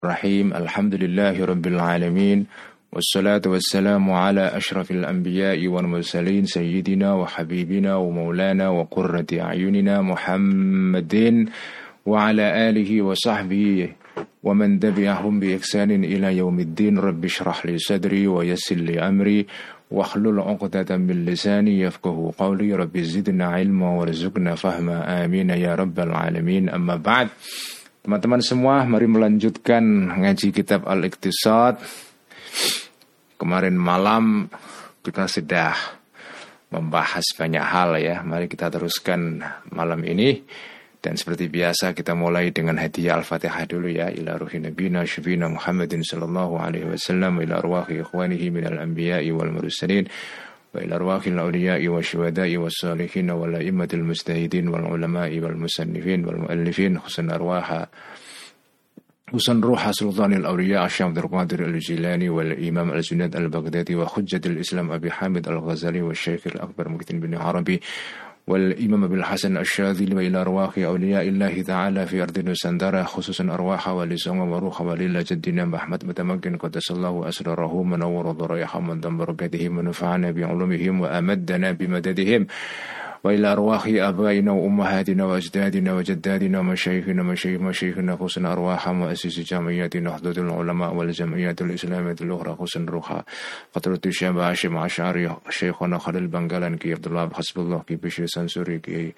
Rahim. Alhamdulillahi Rabbil Alamin. Wassalatu wassalamu ala ashrafil anbiya'i wal mursalin sayyidina wa habibina wa maulana wa qurrati a'yunina Muhammadin wa ala alihi wa sahbihi wa man tabi'ahum bi ihsanin ila yaumiddin. Rabbi shrah li sadri wa yassir li amri wahlul 'uqdatam min lisani yafqahu qawli. Rabbi zidna ilma warzuqna fahma. Amin ya rabbal alamin. Amma ba'd. Teman-teman semua, mari melanjutkan ngaji kitab Al-Iqtisad. Kemarin malam kita sudah membahas banyak hal ya. Mari kita teruskan malam ini. Dan seperti biasa kita mulai dengan hadiah Al-Fatihah dulu ya. Ila ruhi nabina syufina Muhammadin sallallahu alaihi wasallam. Ila arwahi ikhwanihi minal anbiya'i wal mursalin. وإلى أرواح الأولياء والشهداء والصالحين والأئمة المجتهدين والعلماء والمصنفين والمؤلفين حسن روح سلطان الأولياء الشيخ عبد القادر الجيلاني والإمام الجنيد البغدادي وحجة الإسلام أبي حامد الغزالي والشيخ الأكبر محي بن عربي والإمام أبي الحسن الشاذلي. وإلى أرواح أولياء الله تعالى في أرض نسندرة خصوصا أرواح ولي سوم وروح ولي جدنا محمد متمكن قدس الله أسراره منور ضرائحهم من دم بركاتهم ونفعنا بعلومهم وأمدنا بمددهم. وإلى أرواح آبائنا وأمهاتنا وأجدادنا وجدادنا ومشايخنا مشايخنا خصوصا أرواح مؤسس جمعيات نهضة العلماء والجمعيات الإسلامية الأخرى خصوصا روحها قطرة الشيخ هاشم عشعري شيخنا خليل بنغالان كي عبد الله حسب الله كي بشير سنسوري كي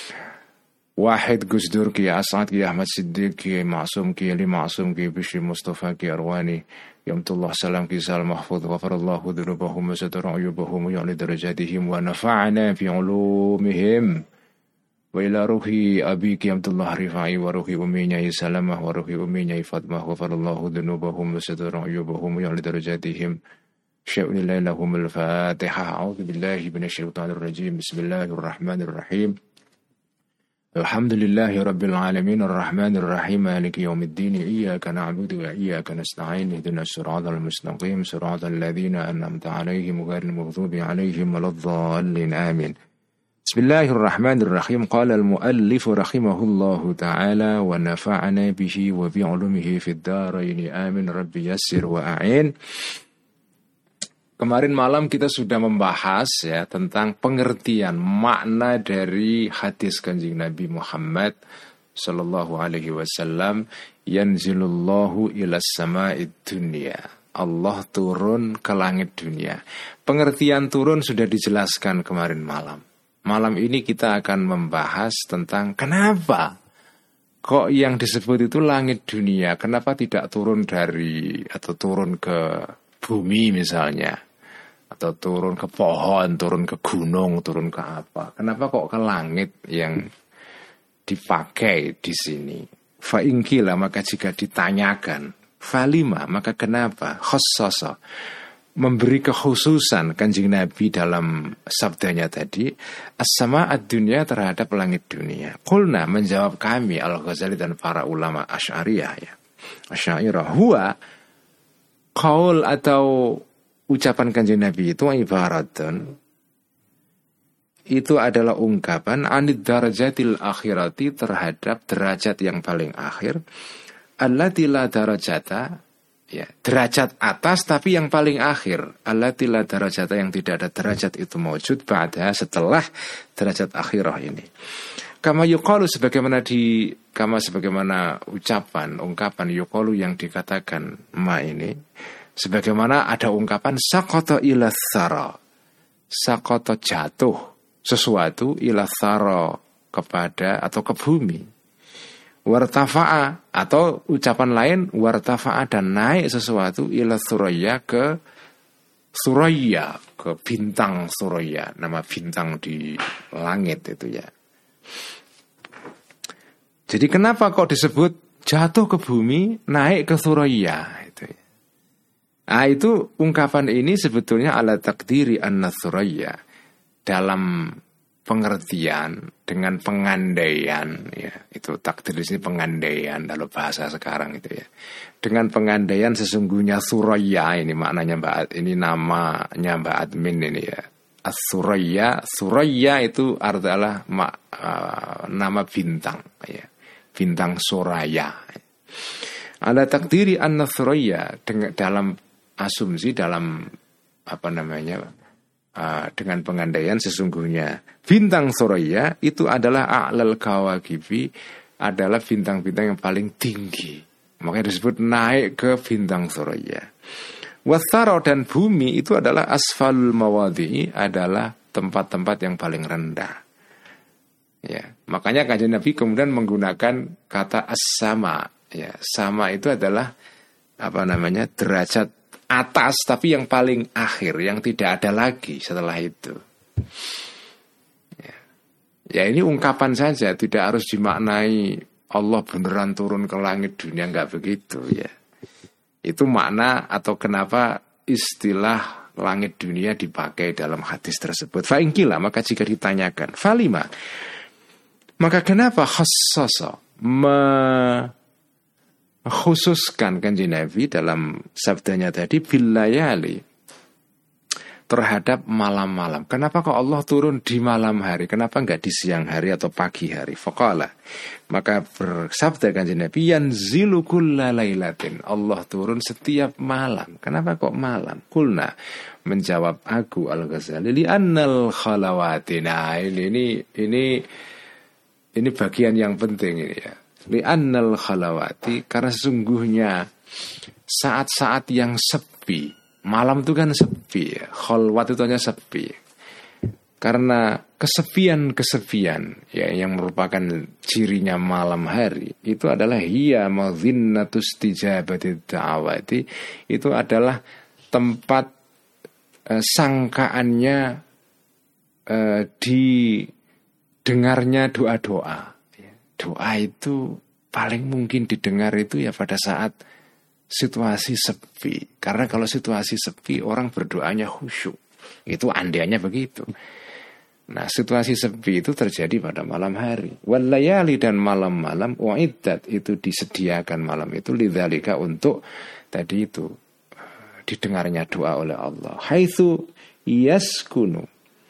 واحد قصدور كي أسعد كي أحمد صديق كي معصوم كي علي معصوم كي بشير مصطفى كي أرواني يوم الله سلام كي سال محفوظ غفر الله ذنوبهم وستر عيوبهم ويعلي درجاتهم ونفعنا في علومهم. وإلى روحي أبي كي عبد الله رفاعي وروحي أمي ناي سلامة وروحي أمي ناي فاطمة غفر الله ذنوبهم وستر عيوبهم ويعلي درجاتهم. شاء الله لهم الفاتحة. أعوذ بالله من الشيطان الرجيم. بسم الله الرحمن الرحيم. الحمد لله رب العالمين الرحمن الرحيم مالك يوم الدين. إياك نعبد وإياك نستعين اهدنا الصراط المستقيم صراط الذين أنعمت عليهم غير المغضوب عليهم ولا الضالين آمين. بسم الله الرحمن الرحيم. قال المؤلف رحمه الله تعالى ونفعنا به وبعلومه في الدارين آمين. ربي يسر وأعين. Kemarin malam kita sudah membahas ya tentang pengertian makna dari hadis Kanjeng Nabi Muhammad sallallahu alaihi wasallam, yanzilullahu ilas sama'id dunya. Allah turun ke langit dunia. Pengertian turun sudah dijelaskan kemarin malam. Malam ini kita akan membahas tentang kenapa kok yang disebut itu langit dunia, kenapa tidak turun dari atau turun ke bumi misalnya, atau turun ke pohon, turun ke gunung, turun ke apa? Kenapa kok ke langit yang dipakai di sini? Fa'ingkila, maka jika ditanyakan, falima, maka kenapa? Khososo, memberi kekhususan Kanjeng Nabi dalam sabdanya tadi, as-sama'ad dunya, terhadap langit dunia. Qulna, menjawab kami Al-Ghazali dan para ulama Asy'ariyah ya. Asy'ariyah huwa qaul atau ucapan Kanjeng Nabi itu ibaratun, itu adalah ungkapan anid darajatil akhirati, terhadap derajat yang paling akhir, allati la darajata, ya, derajat atas tapi yang paling akhir, allati la darajata, yang tidak ada derajat itu mewujud ba'da, setelah derajat akhirah ini. Kama yuqalu, sebagaimana ucapan ungkapan yuqalu yang dikatakan ma ini, sebagaimana ada ungkapan saqata ila tsara, saqata jatuh sesuatu ila tsara, kepada atau ke bumi, wartafa'a, atau ucapan lain wartafa'a, dan naik sesuatu ila suraya, ke suraya, ke bintang suraya, nama bintang di langit itu ya. Jadi kenapa kok disebut jatuh ke bumi, naik ke suraya itu ya. Nah, itu ungkapan ini sebetulnya ala takdiri an-nasraya, dalam pengertian dengan pengandaian ya. Itu takdir di sini pengandaian dalam bahasa sekarang itu ya. Dengan pengandaian sesungguhnya suraya ini maknanya Mbak, ini namanya Mbak Admin ini ya. As-suraya, suraya itu adalah nama bintang ya. Bintang suraya. Ala takdiri an-Thuraya, dalam asumsi, dalam dengan pengandaian sesungguhnya bintang Thuraya itu adalah a'lal kawakibi, adalah bintang-bintang yang paling tinggi. Makanya disebut naik ke bintang Thuraya. Wathara, dan bumi itu adalah asfalul mawadi, adalah tempat-tempat yang paling rendah. Ya, makanya Kanjeng Nabi kemudian menggunakan kata as-sama. Ya, sama itu adalah derajat atas, tapi yang paling akhir, yang tidak ada lagi setelah itu. Ya, ini ungkapan saja, tidak harus dimaknai Allah beneran turun ke langit dunia, enggak begitu ya. Itu makna atau kenapa istilah langit dunia dipakai dalam hadis tersebut. Fa'ingkila, maka jika ditanyakan, falima, maka kenapa khassasa, mengkhususkan Kanjeng Nabi dalam sabdanya tadi bilayali, terhadap malam-malam. Kenapa kok Allah turun di malam hari? Kenapa enggak di siang hari atau pagi hari? Faqala, maka bersabda Kanjeng Nabi, yanzilu kulla lailatin, Allah turun setiap malam. Kenapa kok malam? Kulna, menjawab aku Al-Ghazali, li annal khalawatina. Ini bagian yang penting ini ya. Li annal khalawati, karena sesungguhnya saat-saat yang sepi. Malam itu kan sepi ya. Khalwat itu hanya sepi. Karena kesepian ya, yang merupakan cirinya malam hari, itu adalah hiya madhinnatus tijabati da'awati, itu adalah tempat sangkaannya didengarnya doa-doa. Doa itu paling mungkin didengar itu ya pada saat situasi sepi. Karena kalau situasi sepi, orang berdoanya khusyuk. Itu andainya begitu. Nah, situasi sepi itu terjadi pada malam hari. Wal layali, dan malam-malam, uiddat, itu disediakan malam itu lidzalika, untuk tadi itu didengarnya doa oleh Allah. Haitsu yaskunu,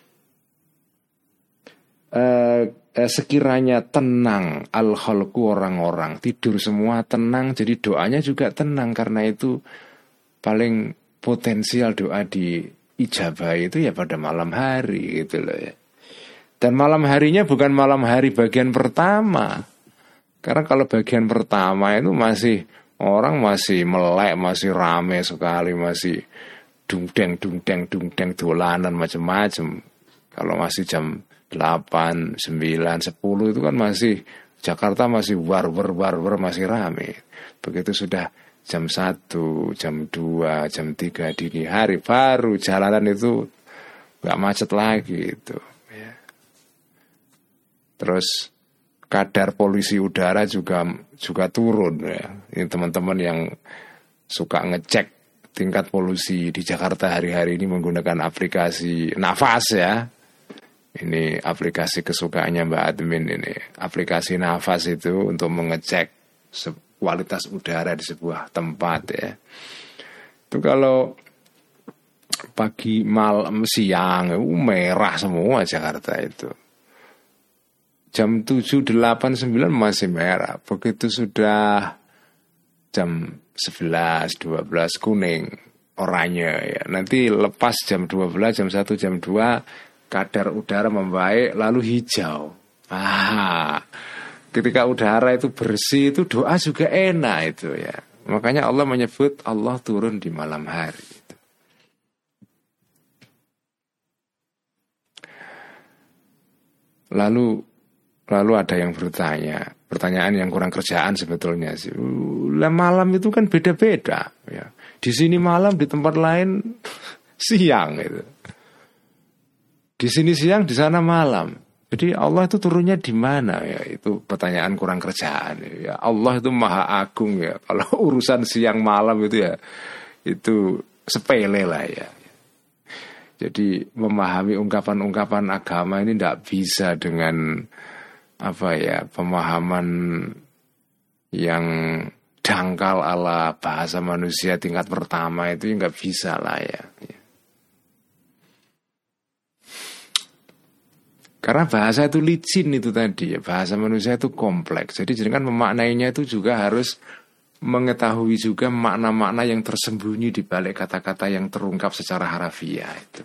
sekiranya tenang al-khalqu, orang-orang tidur semua tenang, jadi doanya juga tenang. Karena itu paling potensial doa di ijabah itu ya pada malam hari gitu loh ya. Dan malam harinya bukan malam hari bagian pertama. Karena kalau bagian pertama itu masih orang masih melek, masih rame sekali, masih dungdeng dolanan macam-macam. Kalau masih jam 8, 9, 10 itu kan masih Jakarta masih war-war masih rame. Begitu sudah jam 1, jam 2, jam 3 dini hari, baru jalanan itu gak macet lagi itu ya. Terus kadar polusi udara juga turun ya. Ini teman-teman yang suka ngecek tingkat polusi di Jakarta hari-hari ini menggunakan aplikasi Nafas ya. Ini aplikasi kesukaannya Mbak Admin ini. Aplikasi Nafas itu untuk mengecek kualitas udara di sebuah tempat ya. Itu kalau pagi, malam, siang merah semua Jakarta itu. Jam 7, 8, 9 masih merah. Begitu sudah jam 11, 12 kuning, oranye ya. Nanti lepas jam 12, jam 1, jam 2 kadar udara membaik, lalu hijau. Ketika udara itu bersih, itu doa juga enak itu ya. Makanya Allah menyebut Allah turun di malam hari itu. Lalu ada yang bertanya, pertanyaan yang kurang kerjaan sebetulnya sih. Malam itu kan beda-beda ya. Di sini malam, di tempat lain siang itu. Di sini siang, di sana malam. Jadi Allah itu turunnya di mana ya? Itu pertanyaan kurang kerjaan ya. Allah itu maha agung ya. Kalau urusan siang malam itu ya, itu sepele lah ya. Jadi memahami ungkapan-ungkapan agama ini tidak bisa dengan pemahaman yang dangkal ala bahasa manusia tingkat pertama itu nggak bisa lah ya. Karena bahasa itu licin itu tadi ya, bahasa manusia itu kompleks. Jadi kan memaknainya itu juga harus mengetahui juga makna-makna yang tersembunyi di balik kata-kata yang terungkap secara harafiah itu.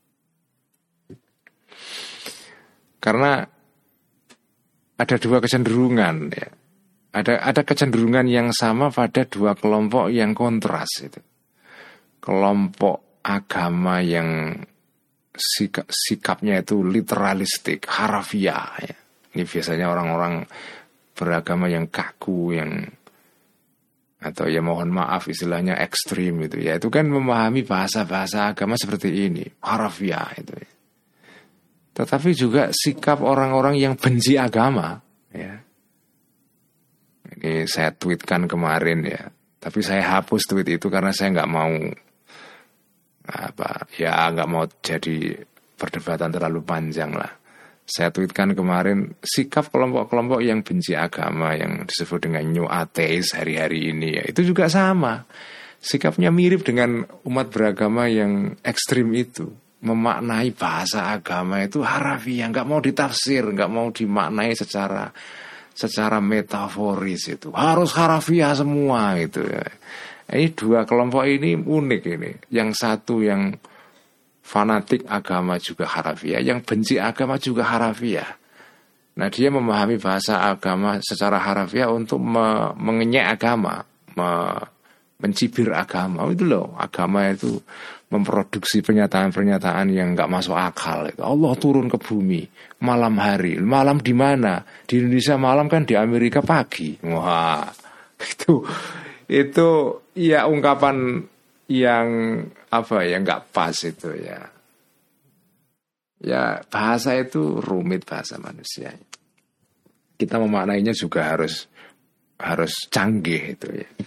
Karena ada dua kecenderungan ya. Ada kecenderungan yang sama pada dua kelompok yang kontras itu. Kelompok agama yang sikapnya itu literalistik, harafiah ya. Ini biasanya orang-orang beragama yang kaku, yang atau ya mohon maaf istilahnya ekstrim itu ya. Itu kan memahami bahasa-bahasa agama seperti ini, harafiah itu ya. Tetapi juga sikap orang-orang yang benci agama ya. Ini saya tweetkan kemarin ya. Tapi saya hapus tweet itu karena saya nggak mau nggak mau jadi perdebatan terlalu panjang lah. Saya tweetkan kemarin sikap kelompok-kelompok yang benci agama yang disebut dengan new atheist hari-hari ini ya, itu juga sama. Sikapnya mirip dengan umat beragama yang ekstrim itu. Memaknai bahasa agama itu harafiah, nggak mau ditafsir, nggak mau dimaknai secara metaforis itu. Harus harafiah semua itu ya. Ini dua kelompok ini unik ini. Yang satu yang fanatik agama juga harafiah, yang benci agama juga harafiah. Nah, dia memahami bahasa agama secara harafiah untuk mengenyek agama, mencibir agama. Itu loh, agama itu memproduksi pernyataan-pernyataan yang nggak masuk akal. Allah turun ke bumi malam hari. Malam di mana? Di Indonesia malam kan, di Amerika pagi. Wah, itu ya ungkapan yang nggak pas itu ya. Ya bahasa itu rumit, bahasa manusia. Kita memaknainya juga harus canggih itu ya.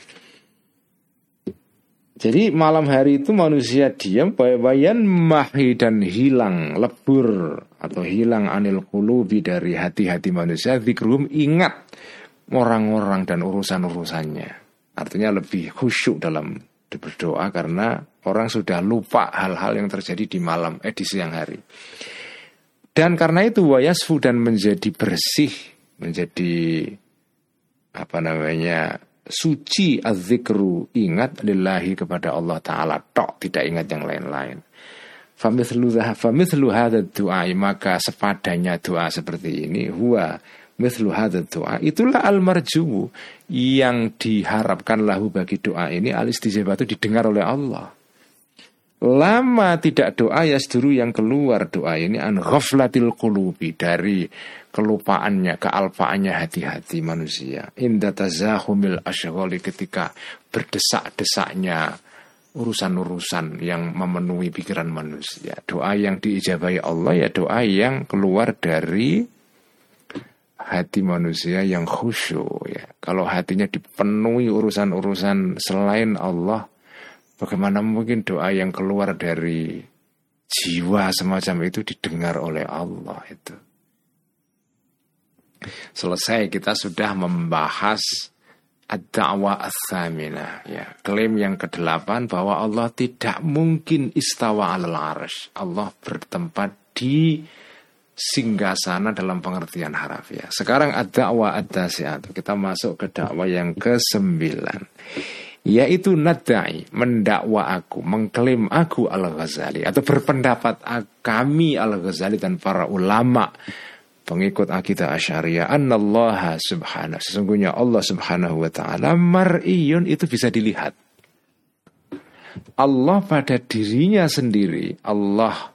Jadi malam hari itu manusia diam, bayan mahi dan hilang, lebur atau hilang anil qulubi dari hati-hati manusia, zikrum ingat orang-orang dan urusan-urusannya. Artinya lebih khusyuk dalam berdoa karena orang sudah lupa hal-hal yang terjadi di siang hari. Dan karena itu wayasfu dan menjadi bersih, menjadi suci az-zikru, ingat lillahi kepada Allah Ta'ala tok, tidak ingat yang lain-lain. Famithlu hadha du'a, maka sepadanya doa seperti ini, huwa mithlu hadha du'a, itulah al-marju, yang diharapkan lahu bagi doa ini, al-istijabah itu didengar oleh Allah. Lama tidak doa yasduru, yang keluar doa ini an ghaflatil qulubi, dari kelupaannya, kealpaannya hati-hati manusia. Inda tazahumil asyghali, ketika berdesak-desaknya urusan-urusan yang memenuhi pikiran manusia. Doa yang diijabahi Allah ya doa yang keluar dari hati manusia yang khusyuk ya. Kalau hatinya dipenuhi urusan-urusan selain Allah, bagaimana mungkin doa yang keluar dari jiwa semacam itu didengar oleh Allah itu. Selesai, kita sudah membahas ad-da'wah ats-tsaminah ya, klaim yang ke-8 bahwa Allah tidak mungkin istawa 'alal 'arsy. Allah bertempat di singgasana dalam pengertian harafiah. Sekarang ad-da'wah at-tasi'ah, kita masuk ke dakwah yang ke-9, yaitu nadai, mendakwa aku, mengklaim aku Al-Ghazali, atau berpendapat kami Al-Ghazali dan para ulama pengikut akidah Asy'ariyah, annallaha subhanahu, sesungguhnya Allah subhanahu wa ta'ala mar'iyun, itu bisa dilihat. Allah pada dirinya sendiri, Allah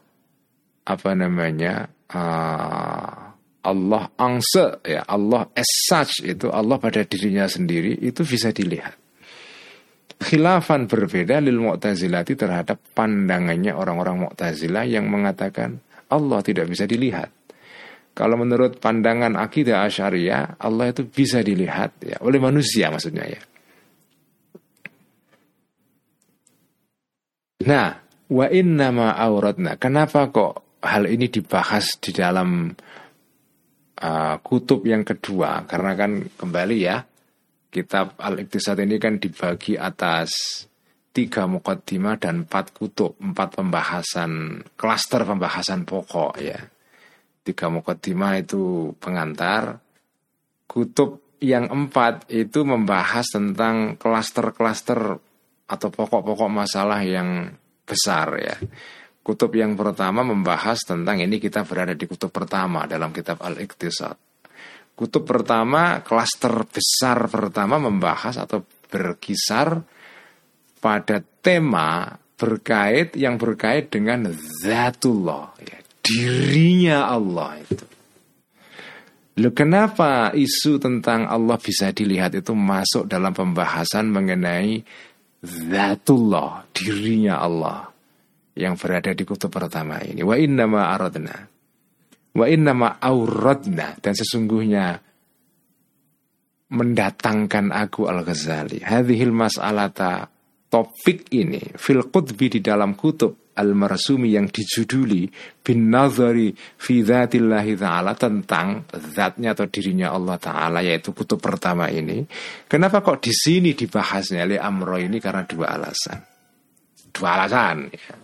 Allah angse ya, Allah as such, itu Allah pada dirinya sendiri itu bisa dilihat. Khilafan, berbeda lil Mu'tazilati, terhadap pandangannya orang-orang Mu'tazilah yang mengatakan Allah tidak bisa dilihat. Kalau menurut pandangan akidah Asy'ariyah, Allah itu bisa dilihat ya, oleh manusia maksudnya ya. Nah, wa innama auratna, kenapa kok hal ini dibahas di dalam kutub yang kedua? Karena kan kembali ya, kitab Al-Iqtisad ini kan dibagi atas 3 muqaddimah dan 4 kutub, 4 pembahasan, klaster pembahasan pokok ya. 3 muqaddimah itu pengantar, kutub yang 4 itu membahas tentang klaster-klaster atau pokok-pokok masalah yang besar ya. Kutub yang pertama membahas tentang ini kita berada di kutub pertama dalam kitab Al-Iqtisad. Kutub pertama, klaster besar pertama membahas atau berkisar pada tema yang berkait dengan Zatullah ya, dirinya Allah itu. Loh, kenapa isu tentang Allah bisa dilihat itu masuk dalam pembahasan mengenai Zatullah, dirinya Allah yang berada di kutub pertama ini. Wa innama aradna wa innama auradna, dan sesungguhnya mendatangkan aku Al-Ghazali hadhil mas'alata, topik ini fil qutbi, di dalam kutub al-marsumi yang dijuduli bin nazari fi dzatillahi ta'ala, tentang zatnya atau dirinya Allah Ta'ala, yaitu kutub pertama ini. Kenapa kok di sini dibahasnya li amro ini? Karena dua alasan ya.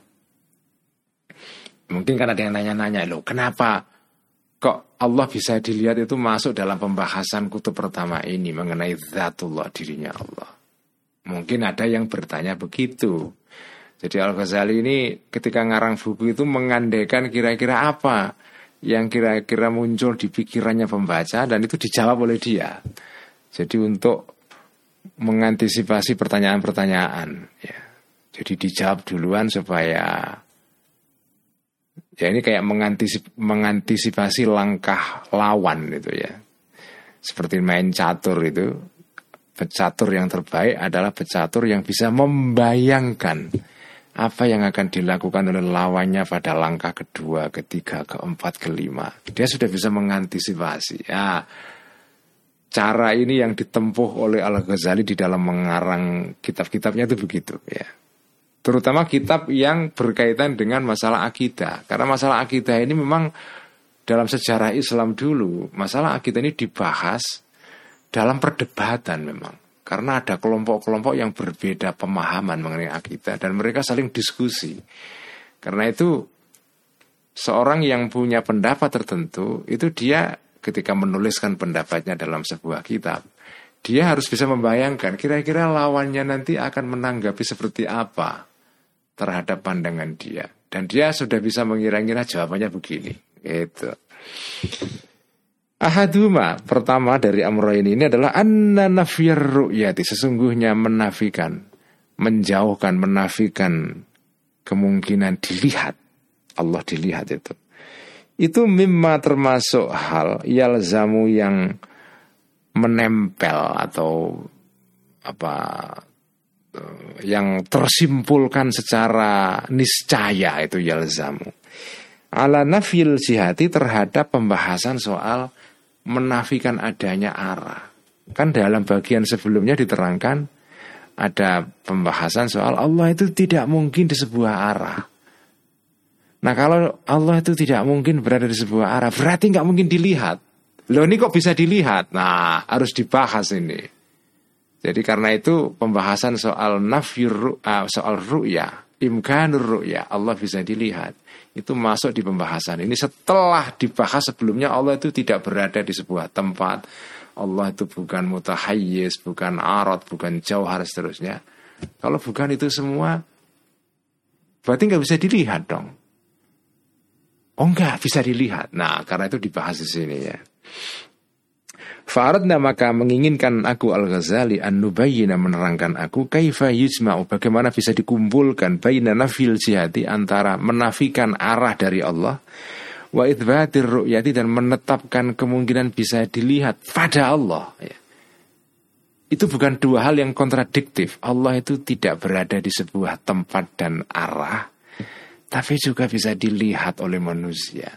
Mungkin kan ada yang nanya-nanya, loh kenapa kok Allah bisa dilihat itu masuk dalam pembahasan kutub pertama ini mengenai Zatullah, dirinya Allah. Mungkin ada yang bertanya begitu. Jadi Al-Ghazali ini ketika ngarang buku itu mengandaikan kira-kira apa yang kira-kira muncul di pikirannya pembaca, dan itu dijawab oleh dia. Jadi untuk mengantisipasi pertanyaan-pertanyaan ya. Jadi dijawab duluan supaya ya ini kayak mengantisipasi langkah lawan itu ya. Seperti main catur itu, pecatur yang terbaik adalah pecatur yang bisa membayangkan apa yang akan dilakukan oleh lawannya pada langkah kedua, ketiga, keempat, kelima. Dia sudah bisa mengantisipasi. Ya, cara ini yang ditempuh oleh Al-Ghazali di dalam mengarang kitab-kitabnya itu begitu ya. Terutama kitab yang berkaitan dengan masalah akidah. Karena masalah akidah ini memang dalam sejarah Islam dulu, masalah akidah ini dibahas dalam perdebatan memang. Karena ada kelompok-kelompok yang berbeda pemahaman mengenai akidah dan mereka saling diskusi. Karena itu seorang yang punya pendapat tertentu, itu dia ketika menuliskan pendapatnya dalam sebuah kitab, dia harus bisa membayangkan kira-kira lawannya nanti akan menanggapi seperti apa terhadap pandangan dia. Dan dia sudah bisa mengira-ngira jawabannya begini. Gitu. Ahaduma, pertama dari amrayn ini adalah anna nafyar ru'yati, sesungguhnya menafikan kemungkinan dilihat, Allah dilihat itu mimma termasuk hal yalzamu yang menempel atau yang tersimpulkan secara niscaya, itu yalzamu ala nafil jihati, terhadap pembahasan soal menafikan adanya arah. Kan dalam bagian sebelumnya diterangkan ada pembahasan soal Allah itu tidak mungkin di sebuah arah. Nah, kalau Allah itu tidak mungkin berada di sebuah arah, berarti nggak mungkin dilihat. Loh, ini kok bisa dilihat? Nah, harus dibahas ini. Jadi karena itu pembahasan soal soal ru'ya, imkanur ru'ya, Allah bisa dilihat, itu masuk di pembahasan ini setelah dibahas sebelumnya Allah itu tidak berada di sebuah tempat, Allah itu bukan mutahayyiz, bukan arad, bukan jauhar, seterusnya. Kalau bukan itu semua, berarti nggak bisa dilihat dong. Oh, nggak bisa dilihat. Nah, karena itu dibahas di sini ya. Fa'aradna, maka menginginkan aku Al-Ghazali an-nubayyina, menerangkan aku kaifa yujma'u, bagaimana bisa dikumpulkan baina nafil jihati, antara menafikan arah dari Allah, wa itsbatir ru'yati, dan menetapkan kemungkinan bisa dilihat pada Allah ya. Itu bukan dua hal yang kontradiktif. Allah itu tidak berada di sebuah tempat dan arah, tapi juga bisa dilihat oleh manusia.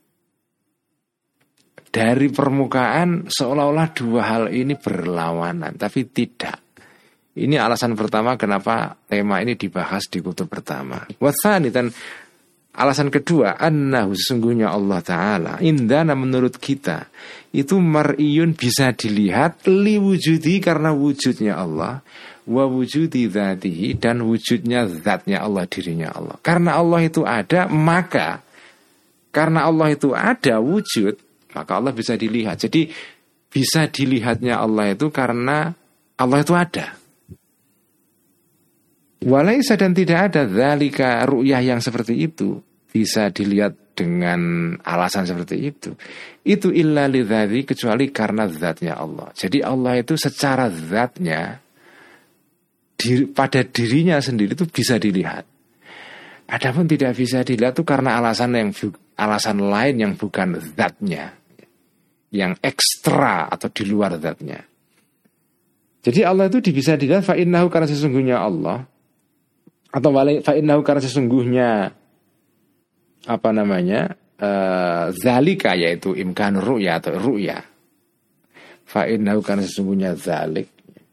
Dari permukaan seolah-olah dua hal ini berlawanan, tapi tidak. Ini alasan pertama kenapa tema ini dibahas di kutub pertama. Watsani, dan alasan kedua, annahu, sesungguhnya Allah Ta'ala indana, menurut kita itu mar'iyun, bisa dilihat, liwujudi, karena wujudnya Allah, wa wujudi dzatihi, dan wujudnya zatnya Allah, dirinya Allah. Karena Allah itu ada, maka karena Allah itu ada wujud, maka Allah bisa dilihat. Jadi bisa dilihatnya Allah itu karena Allah itu ada. Walaisa dan tidak ada dzalika ru'yah yang seperti itu bisa dilihat dengan alasan seperti itu. Itu illa lidzati kecuali karena zatnya Allah. Jadi Allah itu secara zatnya pada dirinya sendiri itu bisa dilihat. Adapun tidak bisa dilihat itu karena alasan lain yang bukan zatnya, yang ekstra atau di luar zatnya. Jadi Allah itu bisa dilihat fa'innahu karena sesungguhnya Allah, atau fa'innahu karena sesungguhnya zalika yaitu imkan ru'ya atau ru'ya. Fa'innahu karena sesungguhnya zalik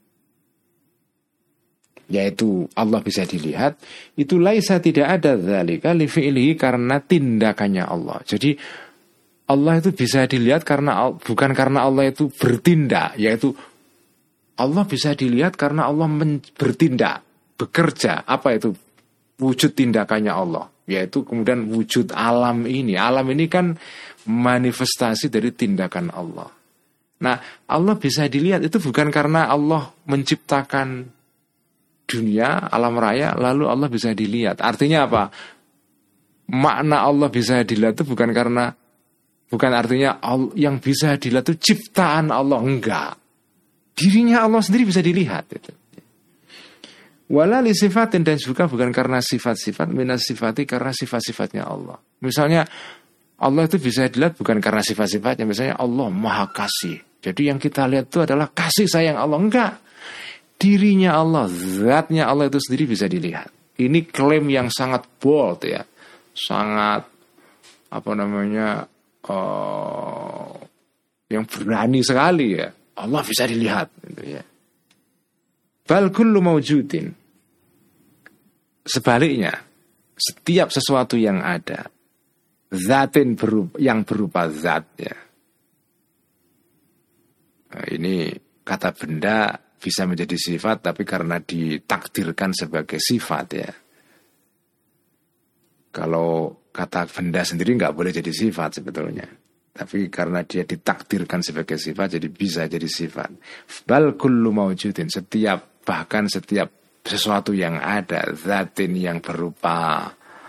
yaitu Allah bisa dilihat, itu laisa tidak ada zalika li fi'lihi karena tindakannya Allah. Jadi Allah itu bisa dilihat bukan karena Allah itu bertindak, yaitu Allah bisa dilihat karena Allah bertindak, bekerja. Apa itu wujud tindakannya Allah? Yaitu kemudian wujud alam ini. Alam ini kan manifestasi dari tindakan Allah. Nah, Allah bisa dilihat itu bukan karena Allah menciptakan dunia, alam raya, lalu Allah bisa dilihat. Artinya apa? Makna Allah bisa dilihat itu bukan artinya yang bisa dilihat itu ciptaan Allah, enggak. Dirinya Allah sendiri bisa dilihat itu. Wala li sifatin, dan juga bukan karena sifat-sifat, minas sifati karena sifat-sifatnya Allah. Misalnya Allah itu bisa dilihat bukan karena sifat-sifatnya. Misalnya Allah Maha Kasih. Jadi yang kita lihat itu adalah kasih sayang Allah, enggak. Dirinya Allah, zatnya Allah itu sendiri bisa dilihat. Ini klaim yang sangat bold ya, sangat yang berani sekali ya. Allah bisa dilihat gitu ya. Bal kullu mawjudin, sebaliknya setiap sesuatu yang ada, zatin yang berupa zat ya. Nah, ini kata benda bisa menjadi sifat, tapi karena ditakdirkan sebagai sifat ya. Kalau kata benda sendiri nggak boleh jadi sifat sebetulnya, tapi karena dia ditakdirkan sebagai sifat, jadi bisa jadi sifat. Bal kullu mawjudin, bahkan setiap sesuatu yang ada, zatin yang berupa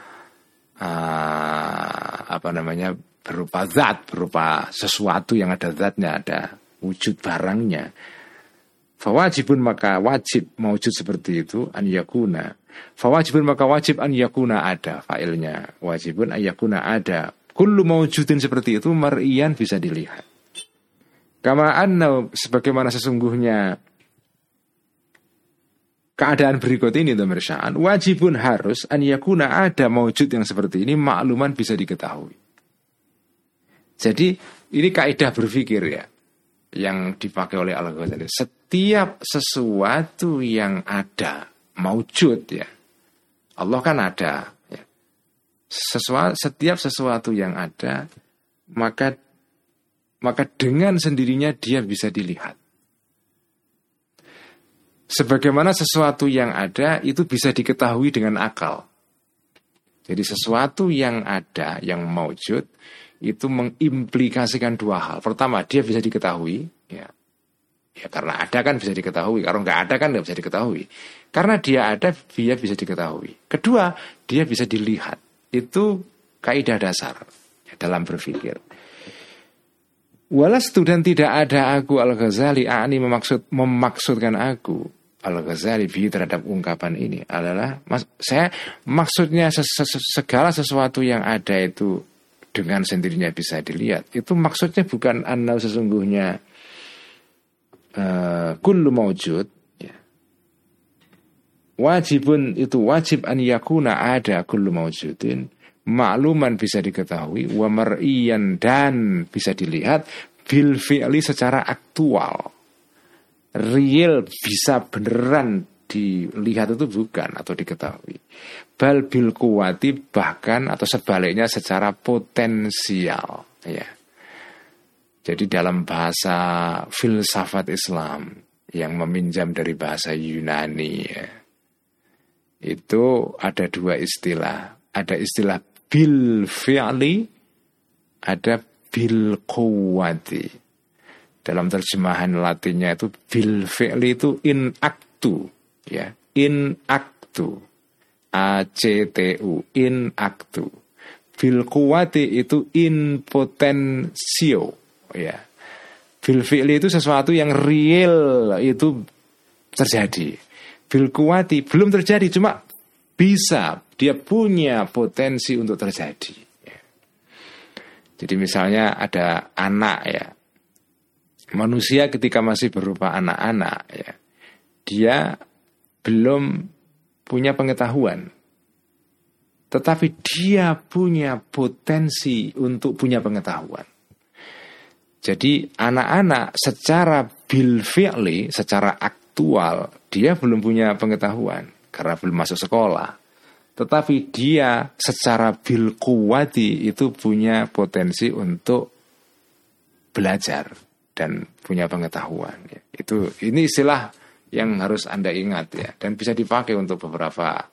berupa zat, berupa sesuatu yang ada zatnya, ada wujud barangnya. Fawajibun, maka wajib mawujud seperti itu an yakuna. Fawajibun, maka wajib an yakuna ada, failnya wajibun an yakuna ada. Kullu mawujudin seperti itu mar'iyan bisa dilihat. Kama anna, sebagaimana sesungguhnya keadaan berikut ini pemirsa, wajibun harus an yakuna ada mawujud yang seperti ini makluman bisa diketahui. Jadi ini kaidah berpikir ya yang dipakai oleh Al-Ghazali. Setiap sesuatu yang ada mawujud ya, Allah kan ada ya. Setiap sesuatu yang ada maka dengan sendirinya dia bisa dilihat. Sebagaimana sesuatu yang ada itu bisa diketahui dengan akal. Jadi sesuatu yang ada, yang mawujud, itu mengimplikasikan dua hal. Pertama, dia bisa diketahui, ya karena ada kan bisa diketahui. Kalau nggak ada kan nggak bisa diketahui. Karena dia ada, dia bisa diketahui. Kedua, dia bisa dilihat. Itu kaidah dasar ya, dalam berpikir. Walastu, dan tidak ada aku Al-Ghazali ani memaksudkan aku Al-Ghazali terhadap ungkapan ini adalah saya maksudnya segala sesuatu yang ada itu dengan sendirinya bisa dilihat. Itu maksudnya bukan anna sesungguhnya kullu mawjud ya. Wajibun itu wajib an yakuna ada kullu mawjudin makluman bisa diketahui wa mar'iyan dan bisa dilihat bil fi'li secara aktual. Real bisa beneran dilihat itu bukan atau diketahui. Bal bil kuwati bahkan atau sebaliknya secara potensial ya. Jadi dalam bahasa filsafat Islam yang meminjam dari bahasa Yunani ya, itu ada dua istilah. Ada istilah bil fi'li, ada bil kuwati. dalam terjemahan Latinnya itu bil fi'li itu in actu, ya, in actu, actu, in actu. Bil quwati itu in potensio, ya. Bil fi'li itu sesuatu yang real itu terjadi. Bil quwati belum terjadi, cuma bisa, dia punya potensi untuk terjadi, ya. Jadi misalnya ada anak, ya, manusia ketika masih berupa anak-anak, ya, dia belum punya pengetahuan, tetapi dia punya potensi untuk punya pengetahuan. Jadi anak-anak secara bil fi'li, secara aktual, dia belum punya pengetahuan karena belum masuk sekolah. Tetapi dia secara bil quwati itu punya potensi untuk belajar dan punya pengetahuan, ya. Ini istilah yang harus Anda ingat, ya, dan bisa dipakai untuk beberapa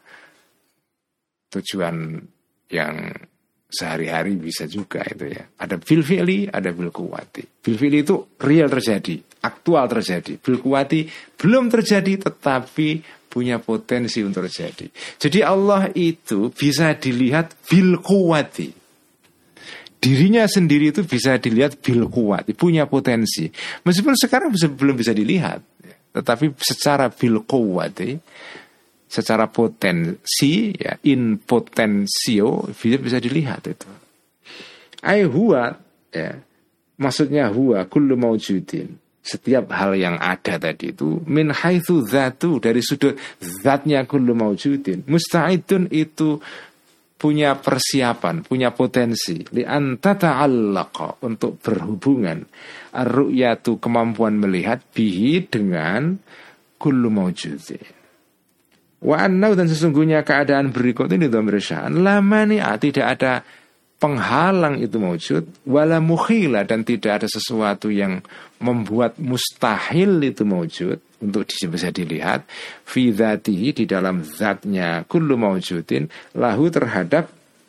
tujuan yang sehari-hari bisa juga itu, ya. Ada bil fi'li, ada bil quwati. Bil fi'li itu real terjadi, aktual terjadi. Bil quwati belum terjadi tetapi punya potensi untuk terjadi. Jadi Allah itu bisa dilihat bil quwati. Dirinya sendiri itu bisa dilihat bil quwati, punya potensi. Meskipun sekarang belum bisa dilihat, tetapi secara bil quwati, secara potensi, ya, in potensio, bisa dilihat itu. Ai huwa, ya, maksudnya huwa kullu maujudin, setiap hal yang ada tadi itu, min haitsu dzatu, dari sudut zatnya kullu maujudin, musta'idun itu punya persiapan, punya potensi, li anta ta'allaqa, untuk berhubungan, ar-ru'yatu, kemampuan melihat, bihi, dengan kullu maujudin. Wa annau, dan sesungguhnya keadaan berikut ini dhamir sya'an, la mani'a, tidak ada penghalang itu maujud, wala mukhila, dan tidak ada sesuatu yang membuat mustahil itu maujud untuk bisa dilihat, fi dzatihi, di dalam zatnya kullu maujudin, lahu, terhadap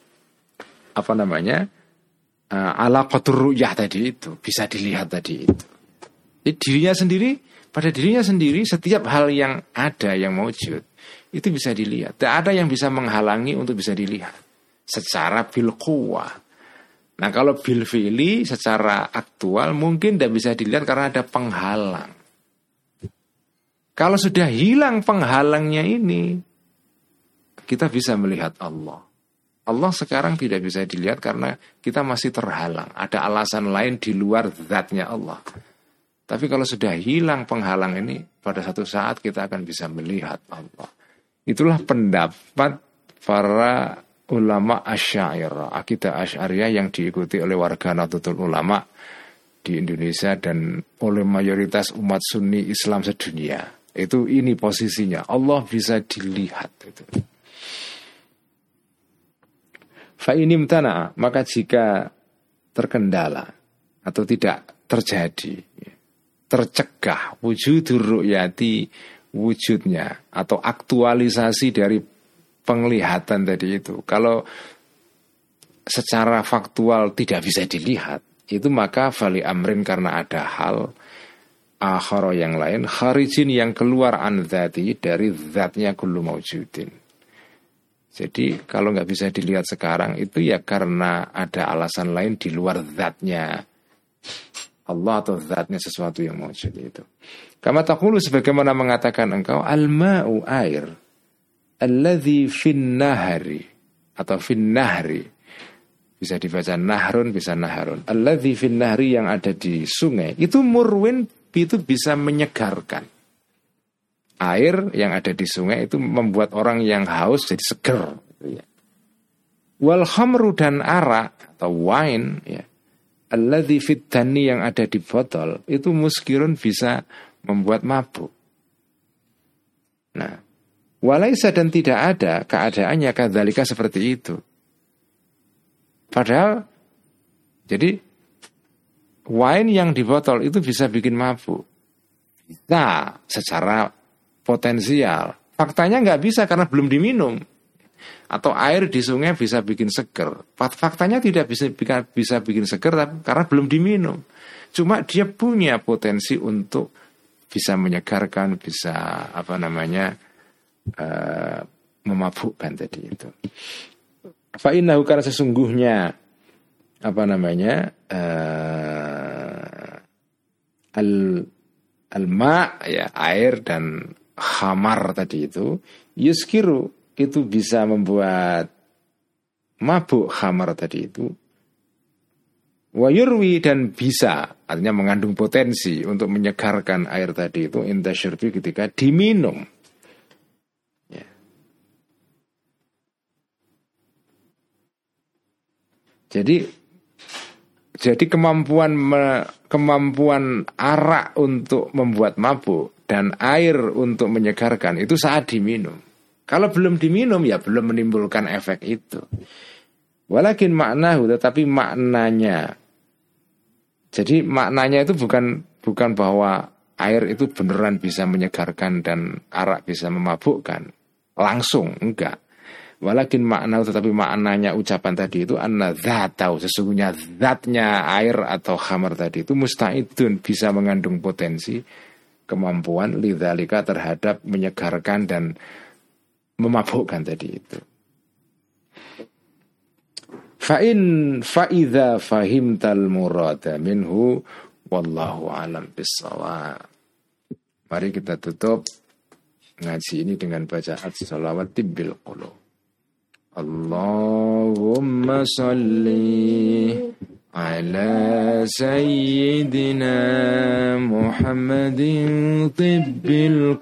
alaqatur ru'yah tadi itu, bisa dilihat tadi itu. Jadi dirinya sendiri, pada dirinya sendiri setiap hal yang ada yang maujud itu bisa dilihat. Tidak ada yang bisa menghalangi untuk bisa dilihat secara bil quwwah. Nah, kalau bil fi'li secara aktual mungkin tidak bisa dilihat karena ada penghalang. Kalau sudah hilang penghalangnya ini, kita bisa melihat Allah. Allah sekarang tidak bisa dilihat karena kita masih terhalang. Ada alasan lain di luar zatnya Allah. Tapi kalau sudah hilang penghalang ini, pada satu saat kita akan bisa melihat Allah. Itulah pendapat para ulama Asy'ariyah, akidah Asy'ariyah yang diikuti oleh warga Nahdlatul Ulama di Indonesia dan oleh mayoritas umat Sunni Islam sedunia. Itu ini posisinya, Allah bisa dilihat itu. Fa inimtana, maka jika terkendala atau tidak terjadi, tercegah wujudur ru'yati, wujudnya atau aktualisasi dari penglihatan tadi itu, kalau secara faktual tidak bisa dilihat, itu maka fali amrin, karena ada hal akhara yang lain, kharijin, yang keluar an dzati, dari zatnya kullu maujudin. Jadi kalau nggak bisa dilihat sekarang itu ya karena ada alasan lain di luar zatnya Allah atau zatnya sesuatu yang maujud itu. Kama taqulu, sebagaimana mengatakan engkau, al-ma'u, air, alladzi fin nahari atau fin nahri, bisa dibaca nahrun, bisa naharun. Alladzi fin nahri, yang ada di sungai, itu murwin, itu bisa menyegarkan. Air yang ada di sungai itu membuat orang yang haus jadi seger, wal khamru, dan arak atau wine, ya, alladzi fit dani, yang ada di botol, itu muskirun, bisa membuat mabuk. Nah, walaisa, dan tidak ada keadaannya kadzalika, seperti itu. Padahal jadi wine yang di botol itu bisa bikin mabuk, bisa secara potensial. Faktanya nggak bisa karena belum diminum. Atau air di sungai bisa bikin seger, faktanya tidak bisa bikin seger karena belum diminum. Cuma dia punya potensi untuk bisa menyegarkan, bisa memabukkan tadi itu. Fa innahu, karena sesungguhnya al-ma, ya air, dan khamar tadi itu yuskiru, itu bisa membuat mabuk khamar tadi itu. Wa yurwi, dan bisa, artinya mengandung potensi untuk menyegarkan air tadi itu inda syurbi, ketika diminum. Ya. Jadi kemampuan arak untuk membuat mabuk dan air untuk menyegarkan itu saat diminum. Kalau belum diminum ya belum menimbulkan efek itu. Walakin maknahu, tetapi maknanya. Jadi maknanya itu bukan bahwa air itu beneran bisa menyegarkan dan arak bisa memabukkan langsung, enggak. Walakin maknahu, tetapi maknanya ucapan tadi itu anna dzatau, sesungguhnya zatnya air atau khamar tadi itu musta'idun, bisa mengandung potensi kemampuan lidzalika, terhadap menyegarkan dan memabukkan tadi itu. Fa'idha fahimtal murada minhu wallahu alam bissawab. Mari kita tutup ngaji ini dengan bacaan shalawat tibbil qulub. Allahumma salli ala sayyidina Muhammadin tibbil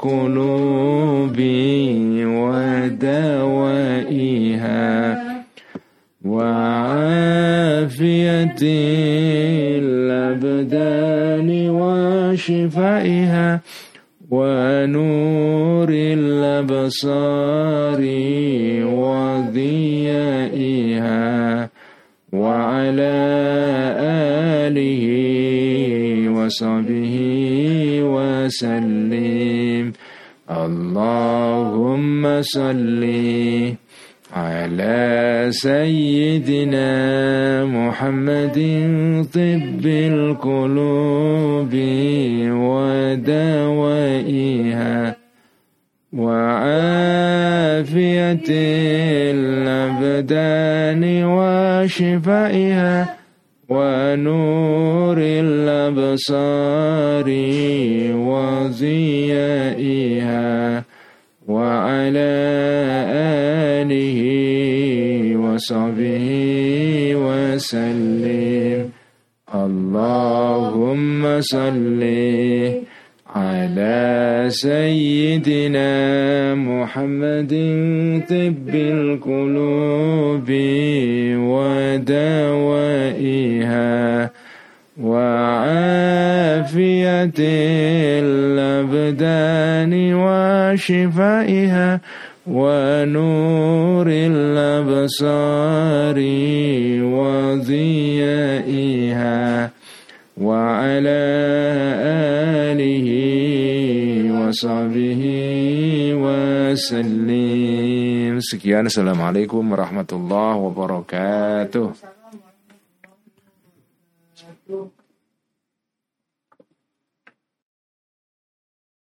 qulubi wa dawaiha وعافية الأبدان وشفائها ونور الأبصار وضيائها وعلى آله وصحبه وسلم. اللهم صل على سيدنا محمد طب القلوب ودوائها وعافية الأبدان وشفائها ونور الأبصار وضيائها وعلى آله وصحبه وسلم. اللهم صل على سيدنا محمد طب القلوب ودوائها وعافية الأبدان وشفائها ونور الأبصار وضيائها وعلى آله وصحبه وسلم. Sekian, assalamualaikum warahmatullahi wabarakatuh.